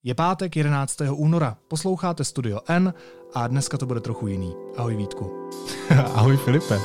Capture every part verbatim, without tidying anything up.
Je pátek jedenáctého února, posloucháte Studio N a dneska to bude trochu jiný. Ahoj Vítku. Ahoj Filipe.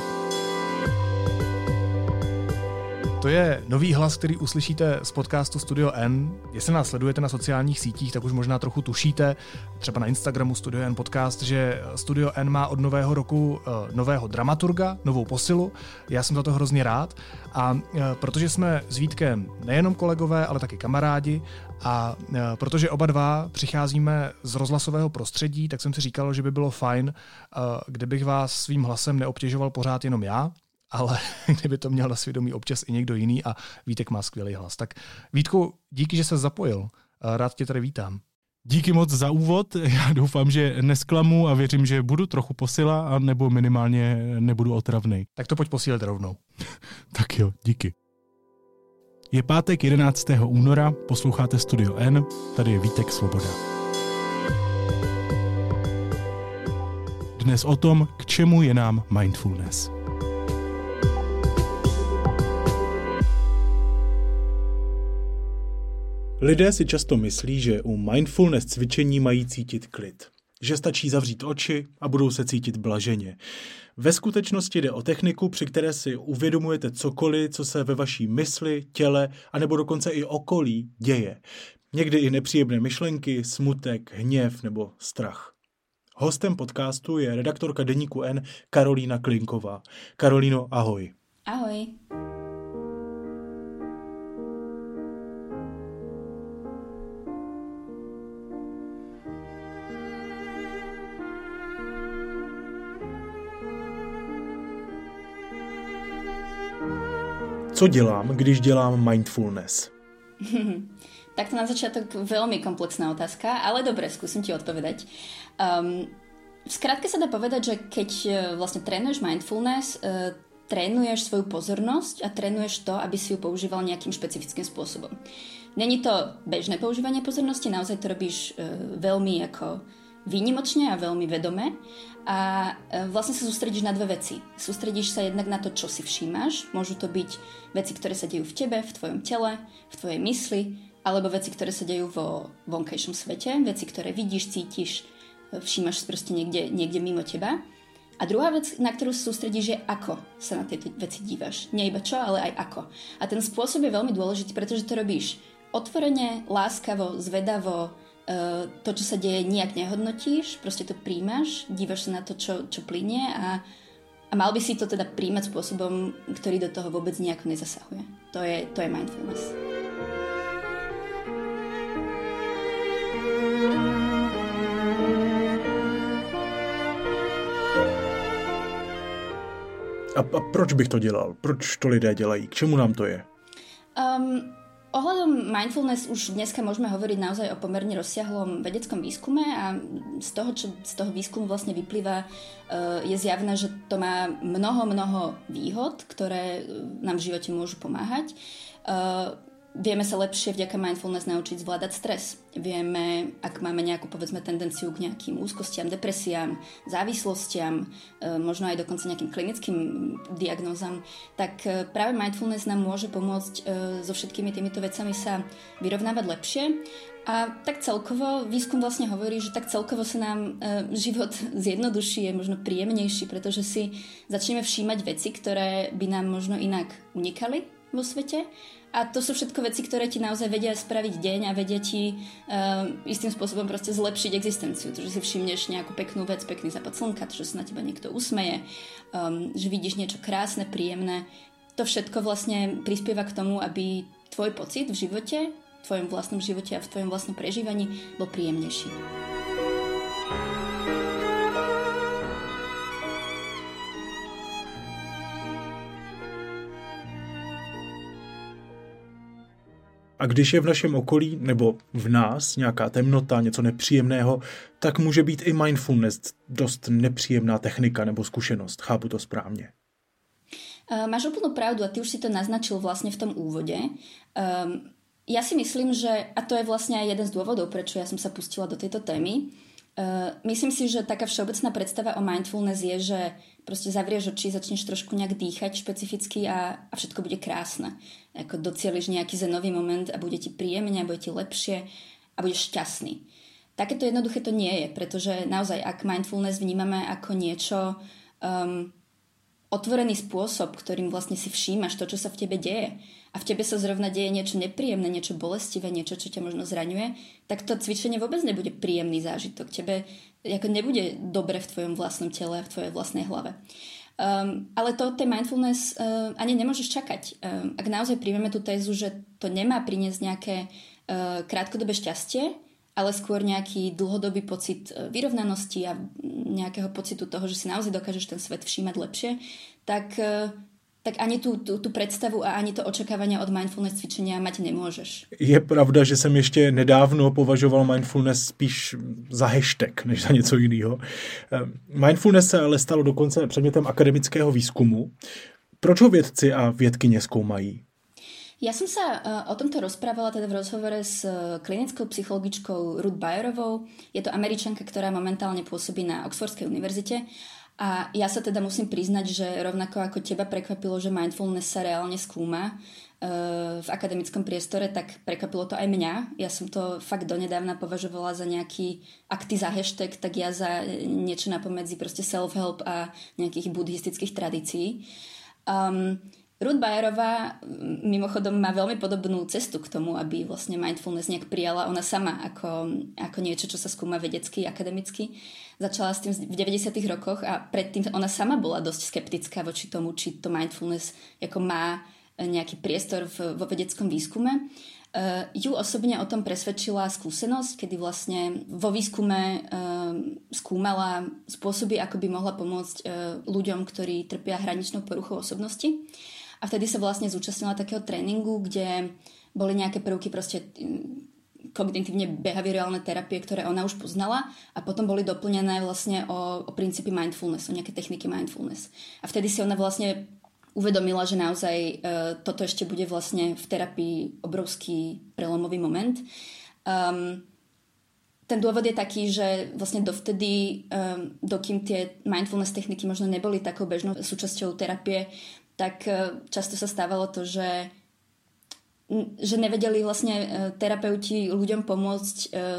To je nový hlas, který uslyšíte z podcastu Studio N. Jestli nás sledujete na sociálních sítích, tak už možná trochu tušíte, třeba na Instagramu Studio N podcast, že Studio N má od nového roku uh, nového dramaturga, novou posilu. Já jsem za to hrozně rád. A uh, protože jsme s Vítkem nejenom kolegové, ale taky kamarádi a uh, protože oba dva přicházíme z rozhlasového prostředí, tak jsem si říkal, že by bylo fajn, uh, kdybych vás svým hlasem neobtěžoval pořád jenom já, ale kdyby to měl na svědomí občas i někdo jiný a Vítek má skvělý hlas. Tak Vítku, díky, že se zapojil. Rád tě tady vítám. Díky moc za úvod. Já doufám, že nesklamu a věřím, že budu trochu posila a nebo minimálně nebudu otravnej. Tak to pojď posílit rovnou. Tak jo, díky. Je pátek jedenáctého února, posloucháte Studio N, tady je Vítek Svoboda. Dnes o tom, k čemu je nám mindfulness. Lidé si často myslí, že u mindfulness cvičení mají cítit klid. Že stačí zavřít oči a budou se cítit blaženě. Ve skutečnosti jde o techniku, při které si uvědomujete cokoliv, co se ve vaší mysli, těle a nebo dokonce i okolí děje. Někdy i nepříjemné myšlenky, smutek, hněv nebo strach. Hostem podcastu je redaktorka deníku N Karolína Klinková. Karolíno, ahoj. Ahoj. Co dělám, když dělám mindfulness? Tak to na začiatok veľmi komplexná otázka, ale dobre, skúsim ti odpovedať. Um, v skratke sa dá povedať, že keď vlastne trénuješ mindfulness, uh, trénuješ svoju pozornosť a trénuješ to, aby si ju používal nejakým špecifickým spôsobom. Není to bežné používanie pozornosti, naozaj to robíš uh, veľmi ako výnimočne a veľmi vedome a vlastne sa sústredíš na dve veci. Sústredíš sa jednak na to, čo si všímaš. Môžu to byť veci, ktoré sa dejú v tebe, v tvojom tele, v tvojej mysli, alebo veci, ktoré sa dejú vo vonkajšom svete, veci, ktoré vidíš, cítiš, všímaš proste niekde, niekde mimo teba. A druhá vec, na ktorú sa sústredíš, je ako sa na tieto veci dívaš. Nie iba čo, ale aj ako. A ten spôsob je veľmi dôležitý, pretože to robíš otvorene, láskavo, zvedavo. To, čo sa deje, nijak nehodnotíš, proste to príjmaš, dívaš sa na to, čo, čo plynie a, a mal by si to teda príjmať spôsobom, ktorý do toho vôbec nejako nezasahuje. To je, to je mindfulness. A, a proč bych to dělal? Proč to lidé dělají? K čemu nám to je? Um, Ohľadom mindfulness už dneska môžeme hovoriť naozaj o pomerne rozsiahlom vedeckom výskume a z toho, čo z toho výskumu vlastne vyplýva, je zjavné, že to má mnoho, mnoho výhod, ktoré nám v živote môžu pomáhať. Vieme sa lepšie vďaka mindfulness naučiť zvládať stres. Vieme, ak máme nejakú, povedzme, tendenciu k nejakým úzkostiam, depresiám, závislostiam, možno aj dokonca nejakým klinickým diagnózam, tak práve mindfulness nám môže pomôcť so všetkými týmito vecami sa vyrovnávať lepšie. A tak celkovo, výskum vlastne hovorí, že tak celkovo sa nám život zjednoduší, je možno príjemnejší, pretože si začneme všímať veci, ktoré by nám možno inak unikali vo svete. A to sú všetko veci, ktoré ti naozaj vedia spraviť deň a vedia ti uh, istým spôsobom proste zlepšiť existenciu. To, že si všimneš nejakú peknú vec, pekný západ slnka, to, že sa na teba niekto usmeje, um, že vidíš niečo krásne, príjemné. To všetko vlastne prispieva k tomu, aby tvoj pocit v živote, v tvojom vlastnom živote a v tvojom vlastnom prežívaní bol príjemnejší. A když je v našem okolí nebo v nás nějaká temnota, něco nepříjemného, tak může být i mindfulness dost nepříjemná technika nebo zkušenost. Chápu to správně. Uh, máš úplnú pravdu a ty už si to naznačil vlastne v tom úvode. Um, ja si myslím, že, a to je vlastne aj jeden z dôvodov, prečo ja som sa pustila do tejto témy, uh, myslím si, že taká všeobecná predstava o mindfulness je, že proste zavrieš oči, začneš trošku nejak dýchať špecificky a, a všetko bude krásne. Ako docieliš nejaký zenový moment a bude ti príjemne a bude ti lepšie. a budeš šťastný. Takéto jednoduché to nie je, pretože naozaj, ak mindfulness vnímame ako niečo, um, otvorený spôsob, ktorým vlastne si všímaš to, čo sa v tebe deje a v tebe sa zrovna deje niečo nepríjemné, niečo bolestivé, niečo, čo ťa možno zraňuje, tak to cvičenie vôbec nebude príjemný zážitok. Tebe ako nebude dobre v tvojom vlastnom tele a v tvojej vlastnej hlave. Um, ale to tej mindfulness uh, ani nemôžeš čakať. Um, ak naozaj príjmeme tú tézu, že to nemá priniesť nejaké uh, krátkodobé šťastie, ale skôr nejaký dlhodobý pocit vyrovnanosti a nejakého pocitu toho, že si naozaj dokážeš ten svet všímať lepšie, tak, tak ani tú, tú, tú predstavu a ani to očakávanie od mindfulness cvičenia mať nemôžeš. Je pravda, že jsem ještě nedávno považoval mindfulness spíš za hashtag, než za něco jiného. Mindfulness se ale stalo dokonce předmětem akademického výzkumu. Proč ho vědci a vědkyně zkoumají? Ja som sa uh, o tomto rozprávala teda v rozhovore s uh, klinickou psychologičkou Ruth Bayerovou. Je to Američanka, ktorá momentálne pôsobí na Oxfordskej univerzite. A ja sa teda musím priznať, že rovnako ako teba prekvapilo, že mindfulness sa reálne skúma uh, v akademickom priestore, tak prekvapilo to aj mňa. Ja som to fakt donedávna považovala za nejaký akty za hashtag, tak ja za niečo napomedzi proste self-help a nejakých buddhistických tradícií. Um, Ruth Bayerová mimochodom má veľmi podobnú cestu k tomu, aby vlastne mindfulness nejak prijala ona sama ako, ako niečo, čo sa skúma vedecky, akademicky. Začala s tým v deväťdesiatych rokoch a predtým ona sama bola dosť skeptická voči tomu, či to mindfulness ako má nejaký priestor v, vo vedeckom výskume. Uh, ju osobne o tom presvedčila skúsenosť, kedy vlastne vo výskume uh, skúmala spôsoby, ako by mohla pomôcť uh, ľuďom, ktorí trpia hraničnou poruchou osobnosti. A vtedy sa vlastne zúčastnila takého tréningu, kde boli nejaké prvky proste kognitívne behaviorálne terapie, ktoré ona už poznala a potom boli doplnené vlastne o, o princípy mindfulness, o nejaké techniky mindfulness. A vtedy si ona vlastne uvedomila, že naozaj uh, toto ešte bude vlastne v terapii obrovský prelomový moment. Um, ten dôvod je taký, že vlastne dovtedy, um, dokým tie mindfulness techniky možno neboli takou bežnou súčasťou terapie, tak často sa stávalo to, že, že nevedeli vlastne terapeuti ľuďom pomôcť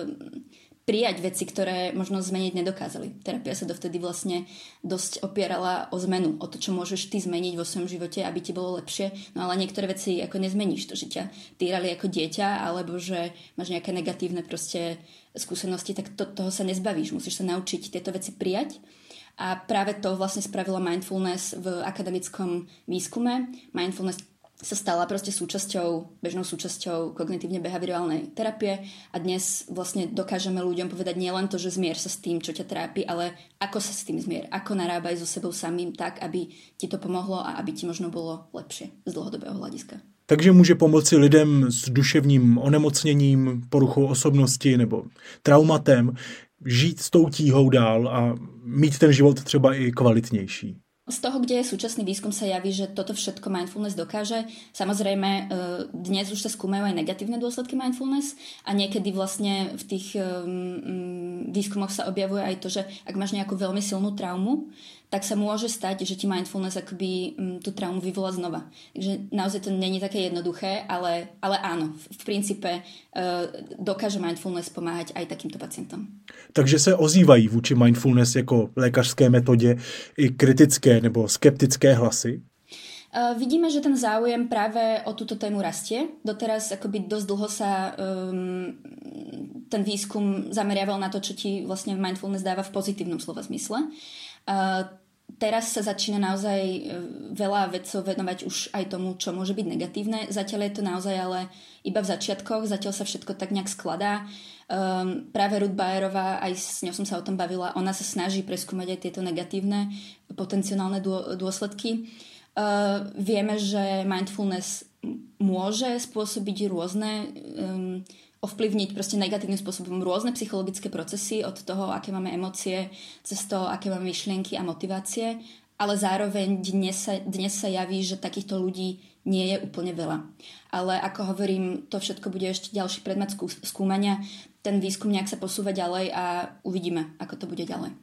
prijať veci, ktoré možno zmeniť nedokázali. Terapia sa dovtedy vlastne dosť opierala o zmenu, o to, čo môžeš ty zmeniť vo svojom živote, aby ti bolo lepšie. No ale niektoré veci ako nezmeníš, to, že ťa týrali ako dieťa, alebo že máš nejaké negatívne proste skúsenosti, tak to, toho sa nezbavíš. Musíš sa naučiť tieto veci prijať. A práve to vlastne spravila mindfulness v akademickom výskume. Mindfulness sa stala proste súčasťou, bežnou súčasťou kognitívne behaviorálnej terapie a dnes vlastne dokážeme ľuďom povedať nielen to, že zmier sa s tým, čo ťa trápi, ale ako sa s tým zmier, ako narábaj so sebou samým tak, aby ti to pomohlo a aby ti možno bolo lepšie z dlhodobého hľadiska. Takže může pomoci lidem s duševním onemocněním, poruchou osobnosti nebo traumatem žít s tou tíhou dál a mít ten život třeba i kvalitnější. Z toho, kde je súčasný výskum, sa javí, že toto všetko mindfulness dokáže. Samozrejme, dnes už sa skúmajú aj negatívne dôsledky mindfulness a niekedy vlastne v tých výskumoch sa objavuje aj to, že ak máš nejakú veľmi silnú traumu, tak sa môže stať, že ti mindfulness akoby tú traumu vyvolá znova. Takže naozaj to není také jednoduché, ale, ale áno, v princípe dokáže mindfulness pomáhať aj takýmto pacientom. Takže se ozývají vůči mindfulness jako lékařské metodě i kritické nebo skeptické hlasy? Uh, vidíme, že ten záujem práve o túto tému rastie. Doteraz akoby dosť dlho sa um, ten výskum zameriaval na to, čo ti vlastne mindfulness dáva v pozitívnom slova zmysle. Uh, teraz sa začína naozaj veľa vedcov venovať už aj tomu, čo môže byť negatívne. Zatiaľ je to naozaj ale iba v začiatkoch, zatiaľ sa všetko tak nejak skladá. Um, práve Ruth Bayerová, aj s ňou som sa o tom bavila, ona sa snaží preskúmať aj tieto negatívne potenciálne dô, dôsledky. Uh, vieme, že mindfulness môže spôsobiť rôzne, um, ovplyvniť proste negatívnym spôsobom rôzne psychologické procesy od toho, aké máme emócie, cez to, aké máme myšlienky a motivácie, ale zároveň dnes sa, dnes sa javí, že takýchto ľudí nie je úplne veľa. Ale ako hovorím, to všetko bude ešte ďalší predmet skúmania. Ten výskum nejak sa posúva ďalej a uvidíme, ako to bude ďalej.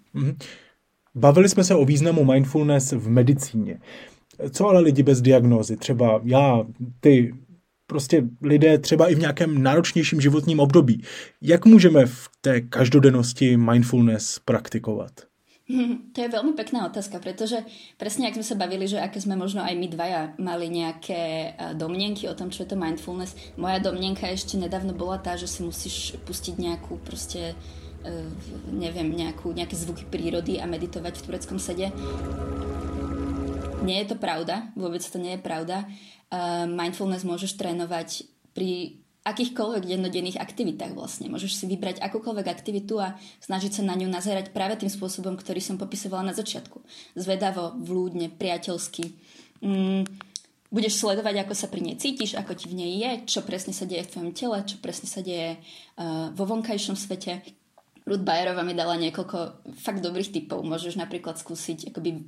Bavili jsme se o významu mindfulness v medicíně. Co ale lidi bez diagnózy, třeba já, ty, prostě lidé třeba i v nějakém náročnějším životním období. Jak můžeme v té každodennosti mindfulness praktikovat? To je veľmi pekná otázka, pretože presne ak sme sa bavili, že aké sme možno aj my dvaja mali nejaké domnienky o tom, čo je to mindfulness. Moja domnienka ešte nedávno bola tá, že si musíš pustiť nejakú proste, neviem, nejakú, nejaké zvuky prírody a meditovať v tureckom sede. Nie je to pravda, vôbec to nie je pravda. Mindfulness môžeš trénovať pri akýchkoľvek dennodenných aktivitách vlastne. Môžeš si vybrať akúkoľvek aktivitu a snažiť sa na ňu nazerať práve tým spôsobom, ktorý som popisovala na začiatku. Zvedavo, vľúdne, priateľsky. Mm, budeš sledovať, ako sa pri nej cítiš, ako ti v nej je, čo presne sa deje v tvojom tele, čo presne sa deje uh, vo vonkajšom svete. Ruth Bayerová mi dala niekoľko fakt dobrých tipov. Môžeš napríklad skúsiť akoby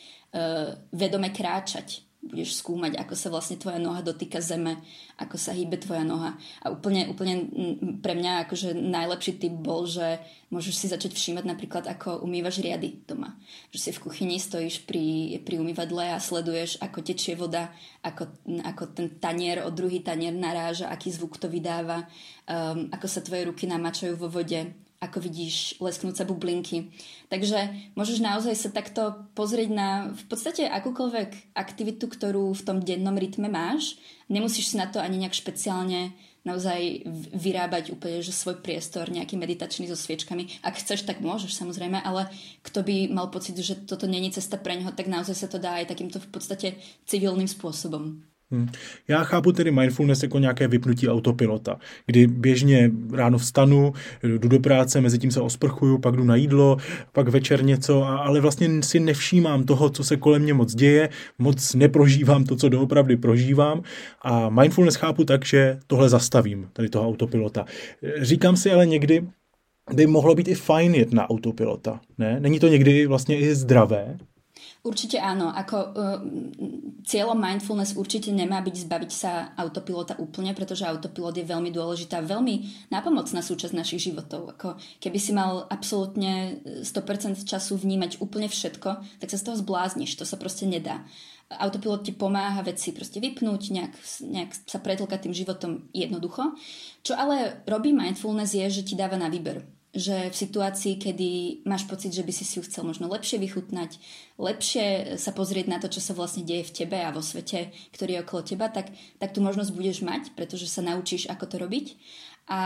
uh, vedome kráčať. Budeš skúmať, ako sa vlastne tvoja noha dotýka zeme, ako sa hýbe tvoja noha. A úplne, úplne pre mňa akože najlepší tip bol, že môžeš si začať všímať napríklad, ako umývaš riady doma. Že si v kuchyni stojíš pri, pri umývadle a sleduješ, ako tečie voda, ako, ako ten tanier o druhý tanier naráža, aký zvuk to vydáva, um, ako sa tvoje ruky namačajú vo vode, ako vidíš lesknúť sa bublinky. Takže môžeš naozaj sa takto pozrieť na v podstate akúkoľvek aktivitu, ktorú v tom dennom rytme máš. Nemusíš si na to ani nejak špeciálne naozaj vyrábať úplne že svoj priestor, nejaký meditačný so sviečkami. Ak chceš, tak môžeš samozrejme, ale kto by mal pocit, že toto není cesta pre ňoho, tak naozaj sa to dá aj takýmto v podstate civilným spôsobom. Hmm. Já chápu tedy mindfulness jako nějaké vypnutí autopilota, kdy běžně ráno vstanu, jdu do práce, mezi tím se osprchuju, pak jdu na jídlo, pak večer něco, ale vlastně si nevšímám toho, co se kolem mě moc děje, moc neprožívám to, co doopravdy prožívám a mindfulness chápu tak, že tohle zastavím, tady toho autopilota. Říkám si ale někdy, by mohlo být i fajn jet na autopilota, ne? Není to někdy vlastně i zdravé? Určite áno. Ako, uh, cieľom mindfulness určite nemá byť zbaviť sa autopilota úplne, pretože autopilot je veľmi dôležitá, veľmi nápomocná súčasť našich životov. Ako, keby si mal absolútne sto percent času vnímať úplne všetko, tak sa z toho zblázniš. To sa proste nedá. Autopilot ti pomáha veci proste vypnúť, nejak, nejak sa pretlkať tým životom jednoducho. Čo ale robí mindfulness je, že ti dáva na výber. Že v situácii, kedy máš pocit, že by si si ju chcel možno lepšie vychutnať, lepšie sa pozrieť na to, čo sa vlastne deje v tebe a vo svete, ktorý je okolo teba, tak, tak tú možnosť budeš mať, pretože sa naučíš, ako to robiť. A,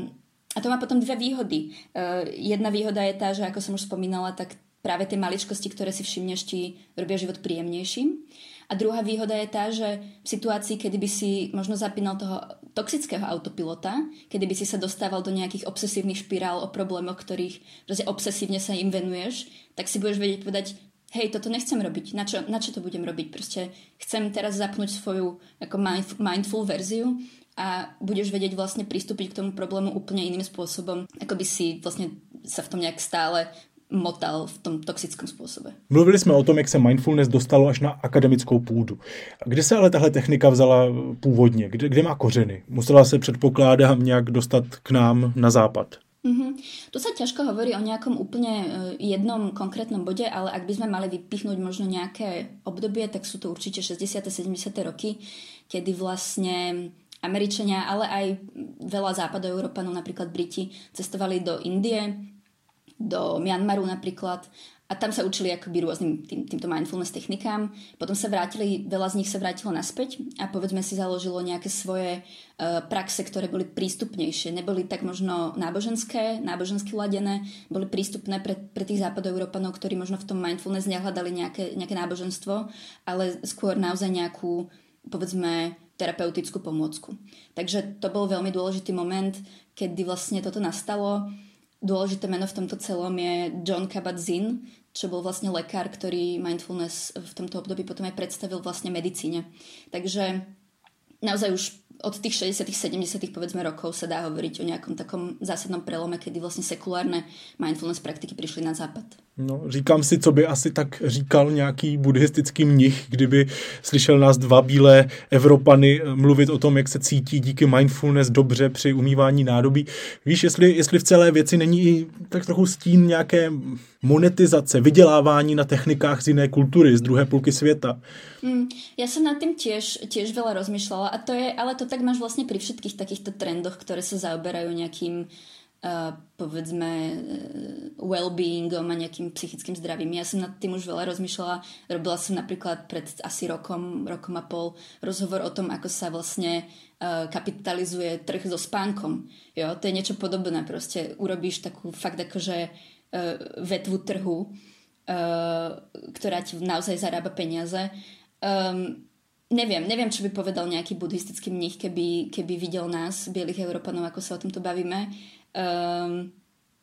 a to má potom dve výhody. Uh, jedna výhoda je tá, že ako som už spomínala, tak práve tie maličkosti, ktoré si všimneš, ti robia život príjemnejším. A druhá výhoda je tá, že v situácii, kedy by si možno zapínal toho toxického autopilota, kedy by si sa dostával do nejakých obsesívnych špirál o problémoch, ktorých proste obsesívne sa im venuješ, tak si budeš vedieť povedať, hej, toto nechcem robiť, na čo, na čo to budem robiť? Proste chcem teraz zapnúť svoju ako mindful verziu a budeš vedieť vlastne pristúpiť k tomu problému úplne iným spôsobom, ako by si vlastne sa v tom nejak stále motal v tom toxickém způsobe. Mluvili jsme o tom, jak se mindfulness dostalo až na akademickou půdu. Kde se ale tahle technika vzala původně? Kde, kde má kořeny? Musela se, předpokládám, nějak dostat k nám na západ? Mm-hmm. Tu sa ťažko hovorí o nejakom úplne jednom konkrétnom bode, ale ak by sme mali vypichnúť možno nejaké obdobie, tak sú to určite šesťdesiate sedemdesiate roky, kedy vlastne Američania, ale aj veľa západoeurópanov, napríklad Briti, cestovali do Indie, do Myanmaru napríklad a tam sa učili akoby rôznym tým, týmto mindfulness technikám. Potom sa vrátili, veľa z nich sa vrátilo naspäť a povedzme si založilo nejaké svoje uh, praxe, ktoré boli prístupnejšie. Neboli tak možno náboženské, nábožensky ladené, boli prístupné pre, pre tých západoeurópanov, ktorí možno v tom mindfulness nehľadali nejaké, nejaké náboženstvo, ale skôr naozaj nejakú, povedzme, terapeutickú pomôcku. Takže to bol veľmi dôležitý moment, kedy vlastne toto nastalo. Dôležité meno v tomto celom je Jon Kabat-Zinn, čo bol vlastne lekár, ktorý mindfulness v tomto období potom aj predstavil vlastne medicíne. Takže naozaj už od tých šesťdesiatych sedemdesiatych povedzme rokov sa dá hovoriť o nejakom takom zásadnom prelome, kedy vlastne sekulárne mindfulness praktiky prišli na západ. No, říkám si, co by asi tak říkal nějaký buddhistický mnich, kdyby slyšel nás dva bílé Evropany mluvit o tom, jak se cítí díky mindfulness dobře při umývání nádobí. Víš, jestli, jestli v celé věci není i tak trochu stín nějaké monetizace, vydělávání na technikách z jiné kultury, z druhé půlky světa. Mm, ja som nad tým tiež, tiež veľa rozmýšľala a to je, ale to tak máš vlastne pri všetkých takýchto trendoch, ktoré sa zaoberajú nejakým Uh, povedzme uh, well-beingom a nejakým psychickým zdravím. Ja som nad tým už veľa rozmýšľala. Robila som napríklad pred asi rokom, rokom a pol rozhovor o tom, ako sa vlastne uh, kapitalizuje trh so spánkom. Jo, to je niečo podobné. Proste urobíš takú fakt akože uh, vetvu trhu, uh, ktorá ti naozaj zarába peniaze. Um, neviem, neviem, čo by povedal nejaký buddhistický mních, keby, keby videl nás, bielých Európanov, ako sa o tomto bavíme. Um,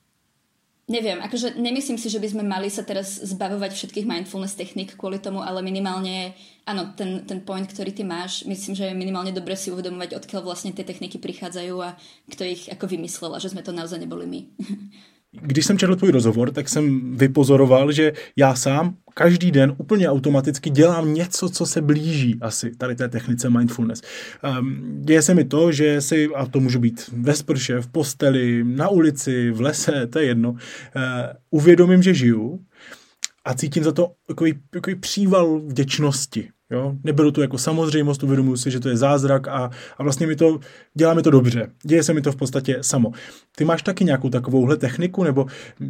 neviem, akože nemyslím si, že by sme mali sa teraz zbavovať všetkých mindfulness technik kvôli tomu, ale minimálne, áno, ten, ten point, ktorý ty máš, myslím, že je minimálne dobre si uvedomovať, odkiaľ vlastne tie techniky prichádzajú a kto ich ako vymyslel a že sme to naozaj neboli my. Když jsem četl tvůj rozhovor, tak jsem vypozoroval, že já sám každý den úplně automaticky dělám něco, co se blíží asi tady té technice mindfulness. Um, děje se mi to, že si, a to může být ve sprše, v posteli, na ulici, v lese, to je jedno, uh, uvědomím, že žiju a cítím za to takový, takový příval vděčnosti. Jo? Neberu to jako samozřejmost, uvědomuji si, že to je zázrak a, a vlastně mi to, dělá mi to dobře. Děje se mi to v podstatě samo. Ty máš taky nějakou takovouhle techniku nebo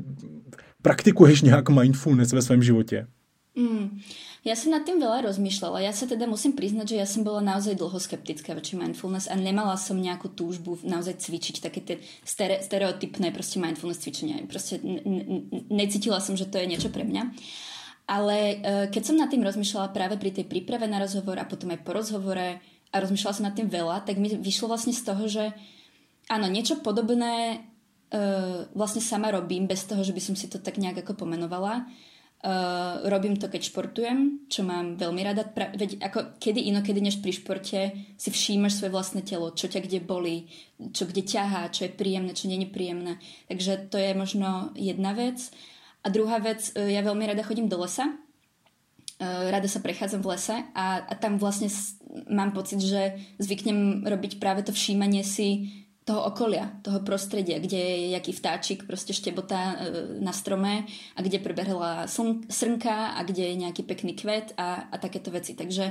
praktikuješ nějak mindfulness ve svém životě? Mm, ja som nad tým veľa rozmýšľala. Ja sa teda musím priznať, že ja som bola naozaj dlho skeptická voči mindfulness a nemala som nejakú túžbu naozaj cvičiť také tie stere, stereotypné proste mindfulness cvičenia. Proste n- n- necítila som, že to je niečo pre mňa. Ale uh, keď som nad tým rozmýšľala práve pri tej príprave na rozhovor a potom aj po rozhovore a rozmýšľala som nad tým veľa, tak mi vyšlo vlastne z toho, že áno, niečo podobné uh, vlastne sama robím bez toho, že by som si to tak nejak ako pomenovala. Uh, robím to, keď športujem, čo mám veľmi rada. Pra- veď ako kedy inokedy než pri športe si všímaš svoje vlastné telo, čo ťa kde bolí, čo kde ťahá, čo je príjemné, čo nie je príjemné. Takže to je možno jedna vec. A druhá vec, uh, ja veľmi rada chodím do lesa. Uh, rada sa prechádzam v lese a, a tam vlastne s- mám pocit, že zvyknem robiť práve to všímanie si toho okolia, toho prostredia, kde je jaký vtáčik proste štebotá na strome a kde prebehla sln- srnka a kde je nejaký pekný kvet a, a takéto veci. Takže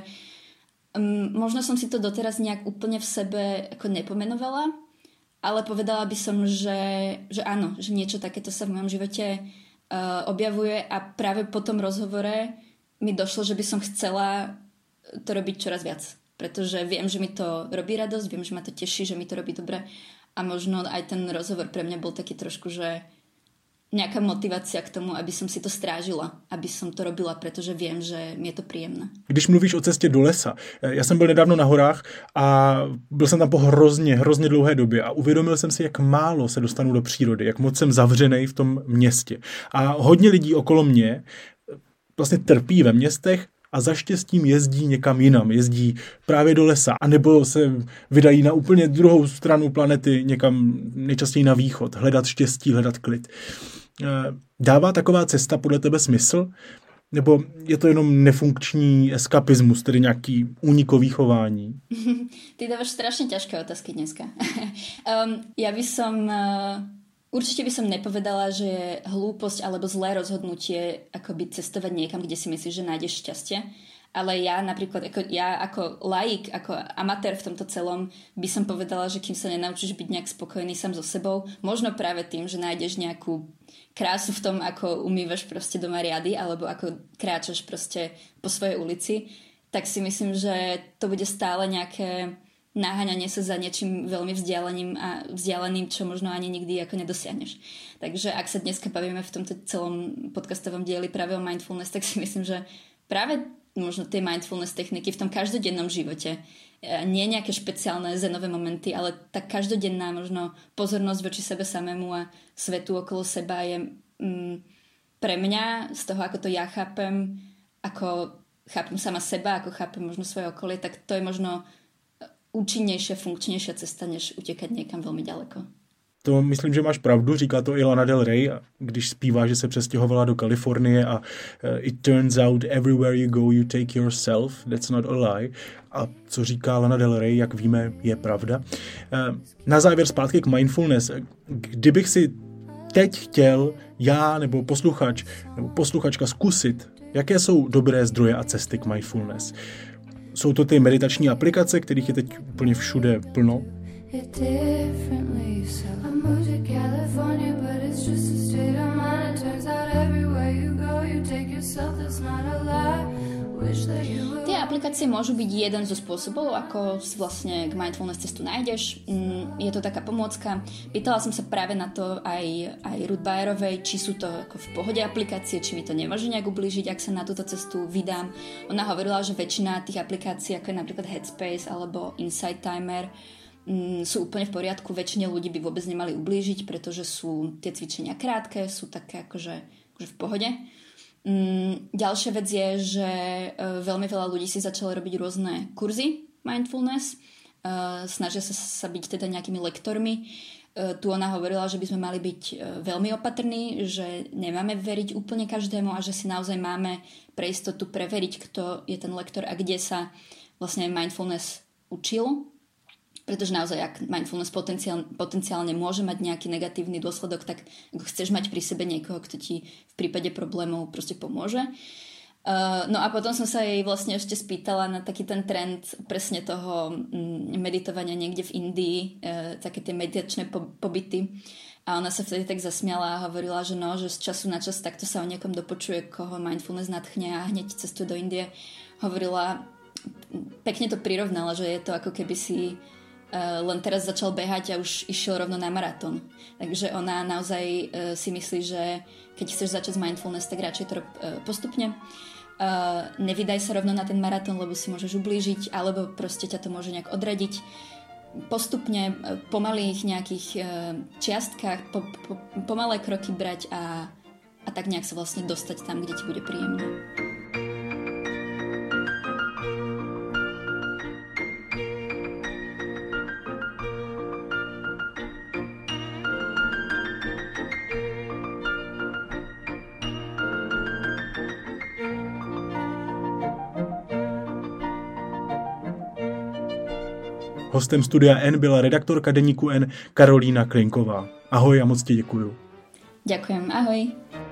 um, možno som si to doteraz nejak úplne v sebe ako nepomenovala, ale povedala by som, že, že áno, že niečo takéto sa v mojom živote uh, objavuje a práve po tom rozhovore mi došlo, že by som chcela to robiť čoraz viac. Pretože viem, že mi to robí radosť, viem, že ma to teší, že mi to robí dobre a možno aj ten rozhovor pre mňa bol taký trošku, že nejaká motivácia k tomu, aby som si to strážila, aby som to robila, pretože viem, že mi je to príjemné. Když mluvíš o cestě do lesa, já jsem byl nedávno na horách a byl jsem tam po hrozně, hrozně dlouhé době a uvědomil jsem si, jak málo se dostanu do přírody, jak moc jsem zavřenej v tom městě. A hodně lidí okolo mě vlastně trpí ve městech a za štěstím jezdí někam jinam, jezdí právě do lesa, anebo se vydají na úplně druhou stranu planety, někam nejčastěji na východ, hledat štěstí, hledat klid. Dává taková cesta podle tebe smysl? Nebo je to jenom nefunkční eskapismus, tedy nějaký únikový chování? Ty dávaš strašne ťažké otázky dneska. um, ja by som... Uh... Určite by som nepovedala, že je hlúposť alebo zlé rozhodnutie akoby cestovať niekam, kde si myslíš, že nájdeš šťastie. Ale ja napríklad, ako, ja ako laik, ako amatér v tomto celom by som povedala, že kým sa nenaučíš byť nejak spokojný sám so sebou, možno práve tým, že nájdeš nejakú krásu v tom, ako umývaš proste doma riady alebo ako kráčaš proste po svojej ulici, tak si myslím, že to bude stále nejaké naháňanie sa za niečím veľmi vzdialeným a vzdialeným, čo možno ani nikdy ako nedosiahneš. Takže ak sa dneska bavíme v tomto celom podcastovom dieli práve o mindfulness, tak si myslím, že práve možno tie mindfulness techniky v tom každodennom živote, nie nejaké špeciálne zenové momenty, ale tak každodenná možno pozornosť voči sebe samému a svetu okolo seba je mm, pre mňa, z toho ako to ja chápem, ako chápem sama seba, ako chápem možno svoje okolie, tak to je možno účinnejšia, funkčnejšia cesta, než utekať niekam veľmi ďaleko. to myslím, že máš pravdu, říká to i Lana Del Rey, když zpívá, že se přestěhovala do Kalifornie a uh, it turns out everywhere you go you take yourself, that's not a lie. A co říká Lana Del Rey, jak víme, je pravda. Uh, na závěr zpátky k mindfulness. Kdybych si teď chtěl já nebo posluchač nebo posluchačka zkusit, jaké jsou dobré zdroje a cesty k mindfulness. Jsou to ty meditační aplikace, kterých je teď úplně všude plno. Tie aplikácie môžu byť jeden zo spôsobov, ako si vlastne k mindfulness cestu nájdeš. Je to taká pomôcka. Pýtala som sa práve na to aj, aj Ruth Bayerovej, či sú to ako v pohode aplikácie, či mi to nemôže nejak ublížiť, ak sa na túto cestu vydám. Ona hovorila, že väčšina tých aplikácií, ako je napríklad Headspace alebo Insight Timer, sú úplne v poriadku. Väčšine ľudí by vôbec nemali ublížiť, pretože sú tie cvičenia krátke, sú také akože, akože v pohode. Mm, ďalšia vec je, že uh, veľmi veľa ľudí si začalo robiť rôzne kurzy mindfulness, uh, snažia sa, sa byť teda nejakými lektormi. Uh, tu ona hovorila, že by sme mali byť uh, veľmi opatrní, že nemáme veriť úplne každému a že si naozaj máme pre istotu preveriť, kto je ten lektor a kde sa vlastne mindfulness učil. Pretože naozaj, ak mindfulness potenciál, potenciálne môže mať nejaký negatívny dôsledok, tak ako chceš mať pri sebe niekoho, kto ti v prípade problémov proste pomôže. Uh, no a potom som sa jej vlastne ešte spýtala na taký ten trend presne toho um, meditovania niekde v Indii, uh, také tie meditačné po- pobyty. A ona sa vtedy tak zasmiala a hovorila, že no, že z času na čas takto sa o niekom dopočuje, koho mindfulness nadchne a hneď cestuje do Indie. Hovorila, pekne to prirovnala, že je to ako keby si Uh, len teraz začal behať a už išiel rovno na maratón. Takže ona naozaj uh, si myslí, že keď chceš začať s mindfulness, tak radšej to rob uh, postupne. Uh, nevydaj sa rovno na ten maratón, lebo si môžeš ublížiť, alebo proste ťa to môže nejak odradiť. Postupne, uh, pomalých nejakých uh, čiastkách, po, po, pomalé kroky brať a, a tak nejak sa vlastne dostať tam, kde ti bude príjemné. Hostem Studia N byla redaktorka deníku N Karolína Klinková. Ahoj a moc ti děkuju. Ďakujem, ahoj.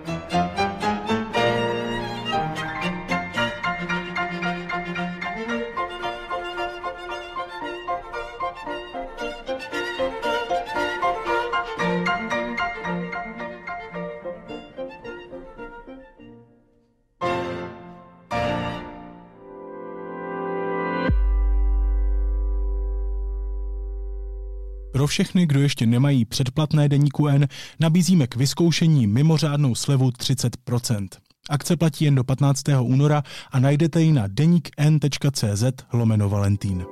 Pro všechny, kdo ještě nemají předplatné deníku N, nabízíme k vyzkoušení mimořádnou slevu třicet procent. Akce platí jen do patnáctého února a najdete ji na deníkn.cz lomeno Valentín.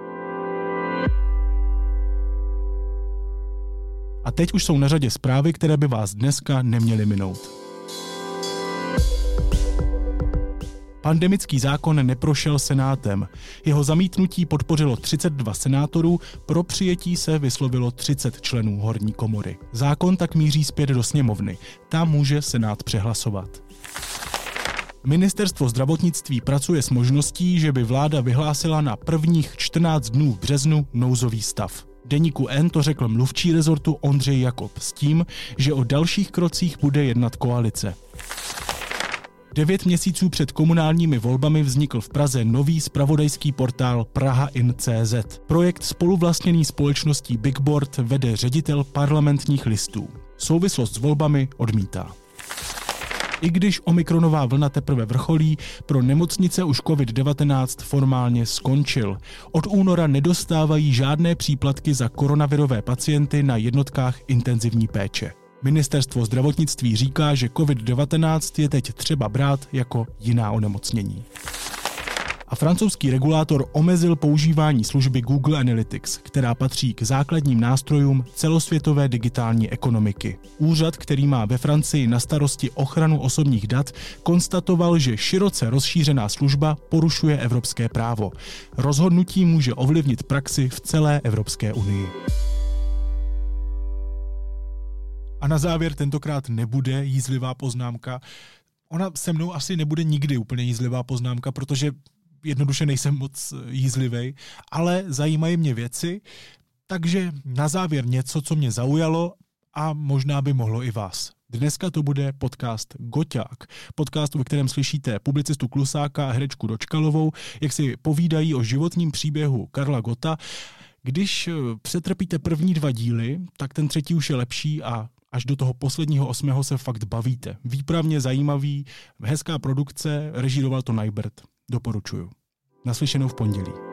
A teď už jsou na řadě zprávy, které by vás dneska neměly minout. Pandemický zákon neprošel Senátem. Jeho zamítnutí podpořilo třicet dva senátorů, pro přijetí se vyslovilo třicet členů horní komory. Zákon tak míří zpět do sněmovny. Tam může Senát přehlasovat. Ministerstvo zdravotnictví pracuje s možností, že by vláda vyhlásila na prvních čtrnáct dnů v březnu nouzový stav. Deníku N to řekl mluvčí rezortu Ondřej Jakob s tím, že o dalších krocích bude jednat koalice. Devět měsíců před komunálními volbami vznikl v Praze nový zpravodajský portál Praha in tečka cé zet. Projekt spoluvlastněný společností Bigboard vede ředitel Parlamentních listů. Souvislost s volbami odmítá. I když omikronová vlna teprve vrcholí, pro nemocnice už covid devatenáct formálně skončil. Od února nedostávají žádné příplatky za koronavirové pacienty na jednotkách intenzivní péče. Ministerstvo zdravotnictví říká, že covid devatenáct je teď třeba brát jako jiná onemocnění. A francouzský regulátor omezil používání služby Google Analytics, která patří k základním nástrojům celosvětové digitální ekonomiky. Úřad, který má ve Francii na starosti ochranu osobních dat, konstatoval, že široce rozšířená služba porušuje evropské právo. Rozhodnutí může ovlivnit praxi v celé Evropské unii. A na závěr tentokrát nebude jízlivá poznámka. Ona se mnou asi nebude nikdy úplně jízlivá poznámka, protože jednoduše nejsem moc jízlivej, ale zajímají mě věci, takže na závěr něco, co mě zaujalo a možná by mohlo i vás. Dneska to bude podcast Goťák. Podcast, ve kterém slyšíte publicistu Klusáka a herečku Dočkalovou, jak si povídají o životním příběhu Karla Gotta. Když přetrpíte první dva díly, tak ten třetí už je lepší a až do toho posledního osmého se fakt bavíte. Výpravně zajímavý, hezká produkce, režíroval to Najbert. Doporučuju. Naslyšenou v pondělí.